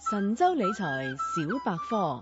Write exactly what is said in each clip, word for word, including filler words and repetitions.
神州理財小百科。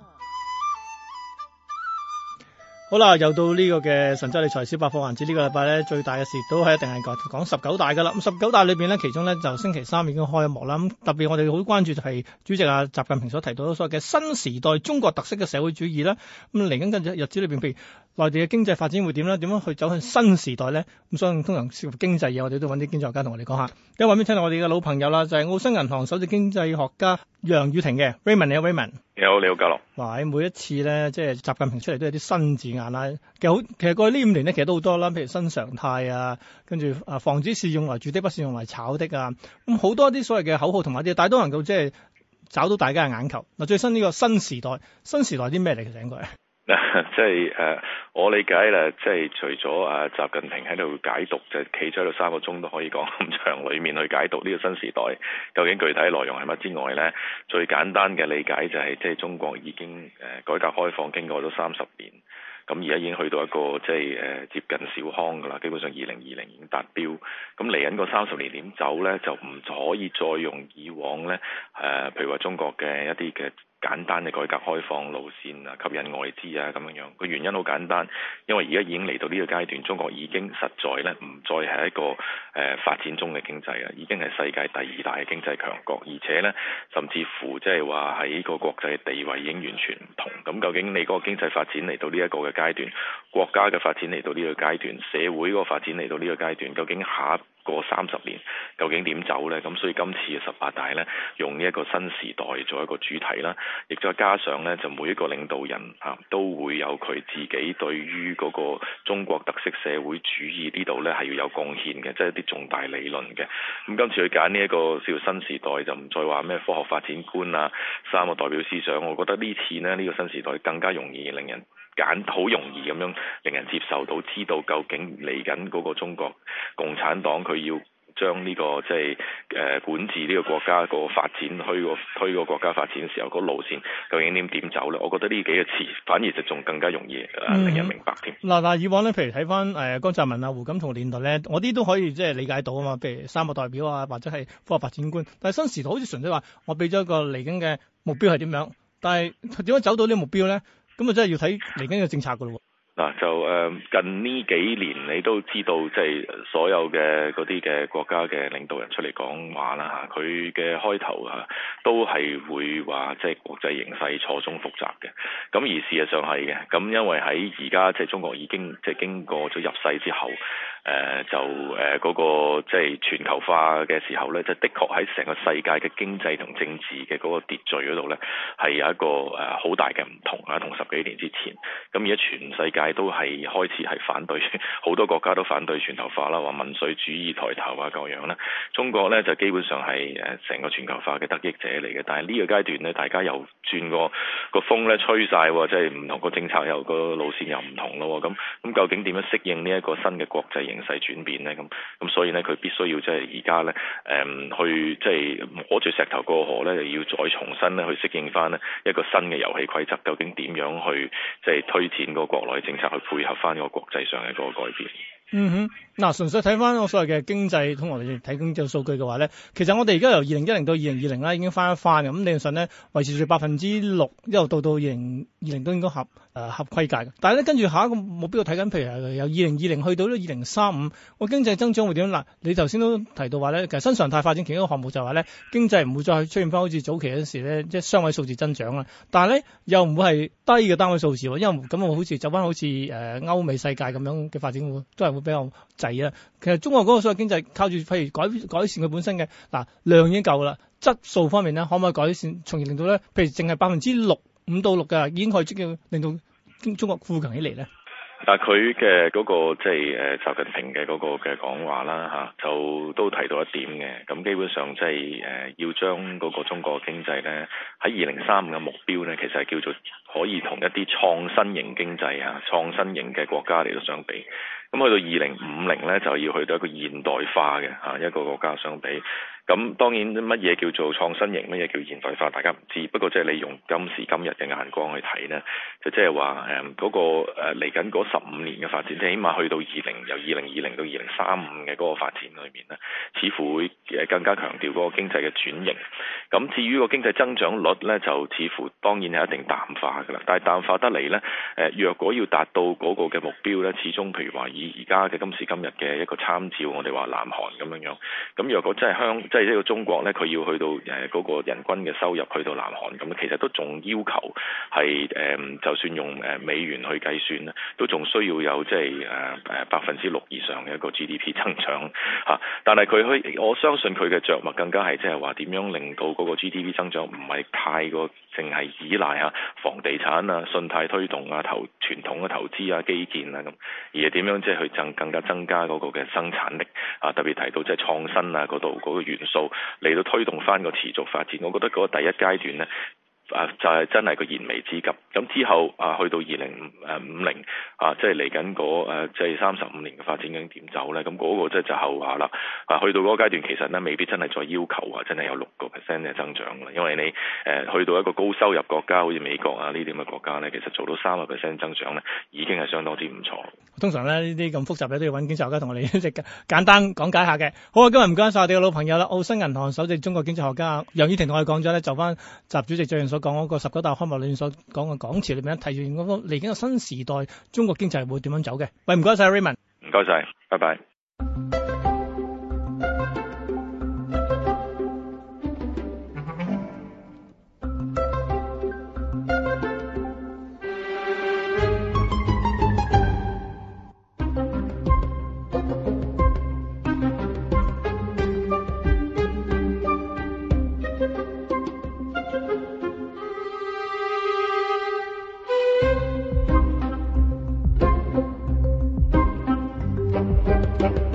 好啦，又到呢個嘅神州理財小百科環節。呢個禮拜咧最大嘅事都係一定係講講十九大噶啦。咁十九大裏邊咧，其中咧就星期三已經開幕啦。咁特別我哋好關注就係主席啊習近平所提到所謂嘅新時代中國特色嘅社會主義啦。咁嚟緊嘅日子裏邊，譬如內地嘅經濟發展會點咧？點樣去走向新時代咧？咁所以通常涉及經濟嘢，我哋都揾啲經濟學家同我哋講下。今日揾邊聽到我哋嘅老朋友啦，就係澳新銀行首席經濟學家楊宇霆嘅 Raymond。你好 Raymond。 你好，你好，嘉樂。 嗱，每一次咧，即係習近平出嚟都有啲新字眼啦。其實好，其實過去呢五年咧，其實都好多啦。譬如新常態啊，跟住啊，房子是用來住的，不是用來炒的啊。咁好多啲所謂嘅口號同埋啲，但係都能夠即係找到大家嘅眼球。嗱，最新呢個新時代，新時代啲咩嚟？其實應該係。 即係誒，我理解咧，即係除咗啊習近平喺度解讀，就企咗喺度三個鐘都可以講咁長裏面去解讀呢個新時代究竟具體內容係乜之外咧，最簡單嘅理解就係即係中國已經誒改革開放經過咗三十年。咁而家已經去到一個即係誒接近小康㗎啦，基本上二零二零已經達標。咁嚟緊個三十年點走咧，就唔可以再用以往咧誒、呃，譬如話中國嘅一啲嘅簡單嘅改革開放路線啊，吸引外資啊咁樣樣。個原因好簡單，因為而家已經嚟到呢個階段，中國已經實在咧唔再係一個誒、呃、發展中嘅經濟啊，已經係世界第二大嘅經濟強國，而且咧甚至乎即係話喺個國際地位已經完全唔同。咁究竟你嗰個經濟發展嚟到呢一個嘅階段，國家嘅發展嚟到呢個階段，社會嗰個發展嚟到呢個階段，究竟下一個三十年究竟點走呢？咁所以今次嘅十八大呢，用呢一個新時代做一個主題啦，亦再加上呢，就每一個領導人啊都會有佢自己對於嗰個中國特色社會主義呢度呢係要有貢獻嘅，即係一啲重大理論嘅。咁今次去揀呢一個叫新時代，就唔再話咩科學發展觀啊，三個代表思想。我覺得呢次呢，呢個新時代更加容易令人揀，好容易咁樣令人接受到，知道究竟嚟緊嗰個中國共產黨佢要將呢、這個即係誒管治呢個國家個發展推個推個國家發展嘅時候，個路線究竟點點走咧？我覺得呢幾個詞反而就仲更加容易誒、嗯、令人明白添。 嗱嗱，以往咧，譬如睇翻誒江澤民啊、胡錦濤年代咧，我啲都可以即係理解到啊嘛。譬如三個代表啊，或者係科學發展觀，但係新時代好似純粹話我俾咗一個嚟緊嘅目標係點樣，但係點樣走到呢個目標咧？咁啊，真係要睇嚟緊嘅政策噶咯。 嗱就誒近呢幾年你都知道，即係所有嘅嗰啲嘅國家嘅領導人出嚟講話啦嚇，佢嘅開頭嚇都係會話即係國際形勢錯綜複雜嘅。咁而事實上係嘅，咁因為喺而家即係中國已經即係經過咗入世之後，誒、呃、就誒嗰、呃那個即係全球化嘅時候咧，即係的確喺成個世界嘅經濟同政治嘅嗰個秩序嗰度咧，係有一個誒好大嘅唔同啊，同十幾年之前。咁而家全世界都係開始係反對，好多國家都反對全球化啦，話民粹主義抬頭啊，各樣啦。中國咧就基本上係誒成個全球化嘅得益者嚟嘅，但係呢個階段咧，大家又轉個個風咧吹晒，即係唔同個政策又個路線又唔同咯。咁咁究竟點樣適應呢一個新嘅國際形勢轉變咧？咁咁所以咧，佢必須要即係而家咧誒去即係摸住石頭過河咧，又要再重新咧去適應翻呢一個新嘅遊戲規則。究竟點樣去即係推展個國內政策去配合翻個國際上嘅嗰個改變？ 嗯哼，嗱，純粹睇翻我所謂嘅經濟，同我哋睇經濟數據嘅話咧，其實我哋而家由二零一零到二零二零啦，已經翻一翻嘅，咁理論上咧維持住百分之六，一路到到二零二零都應該合誒、呃、合規格嘅。但係咧跟住下一個目標睇緊，譬如由二零二零去到咧二零三五，個經濟增長會點？嗱，你頭先都提到話咧，其實新常態發展其中一個項目就係話咧，經濟唔會再出現翻好似早期嗰陣時咧，即係雙位數字增長啦。但係咧又唔會係低嘅單位數字喎，因為咁我好似走翻好似誒、呃、歐美世界咁樣嘅發展會都係會比較滯啊。其實中國嗰個所謂經濟靠住譬如改改善佢本身嘅嗱量已經夠啦，質素方面咧可唔可以改善，從而令到咧譬如淨係百分之六五到六嘅已經可以即叫令到中國富強起嚟咧？ 但係佢嘅嗰個即係誒習近平嘅嗰個嘅講話啦嚇，就都提到一點嘅。咁基本上即係誒要將嗰個中國經濟咧喺二零三五嘅目標咧，其實係叫做可以同一啲創新型經濟啊、創新型嘅國家嚟到相比。咁去到二零五零咧，就要去到一個現代化嘅嚇一個國家相比。 咁當然乜嘢叫做創新型，乜嘢叫現代化，大家唔知。不過即係你用今時今日嘅眼光去睇呢，就即係話誒嗰個誒嚟緊嗰十五年嘅發展，即係起碼去到二零由二零二零到二零三五嘅嗰個發展裏面呢，似乎會誒更加強調嗰個經濟嘅轉型。咁至於個經濟增長率呢，就似乎當然係一定淡化㗎啦。但係淡化得嚟呢，誒若果要達到嗰個嘅目標呢，始終譬如話以而家嘅今時今日嘅一個參照，我哋話南韓咁樣樣。咁若果真係香，即係呢個中國呢，佢要去到誒嗰個人均嘅收入去到南韓，咁其實都仲要求係誒，就算用誒美元去計算咧，都仲需要有即係誒誒百分之六以上嘅一個 G D P 增長嚇。但係佢去，我相信佢嘅着墨更加係即係話點樣令到嗰個 G D P 增長唔係太過淨係依賴嚇房地產啊、信貸推動啊、投傳統嘅投資啊、基建啊咁，而係點樣即係去增更加增加嗰個嘅生產力啊，特別提到即係創新啊嗰度嗰個元素嚟到推動翻個持續發展。我覺得嗰個第一階段呢，啊，就係、是、真係個燃眉之急。咁之後啊，去到二零誒五零啊，即係嚟緊嗰誒即係三十五年嘅發展究竟點走咧？咁、那、嗰個即係就後話啦。啊，去到嗰個階段，其實咧未必真係再要求話真係有六個 percent 嘅增長啦。因為你誒、呃、去到一個高收入國家，好似美國啊呢啲咁嘅國家咧，其實做到三個 percent 增長咧，已經係相當之唔錯。 通常咧呢啲咁複雜嘅都要揾經濟學家同我哋一直簡單講解下嘅。好啊，今日唔該晒我哋嘅老朋友啦，澳新銀行首席中國經濟學家楊宇霆同我哋講咗咧，就翻習主席最近所講嗰個十九大開幕裏面所講嘅講詞裏面，提出嗰個嚟緊嘅新時代中國經濟會點樣走嘅。喂，唔該晒 Raymond， 唔該晒，拜拜。Thank you.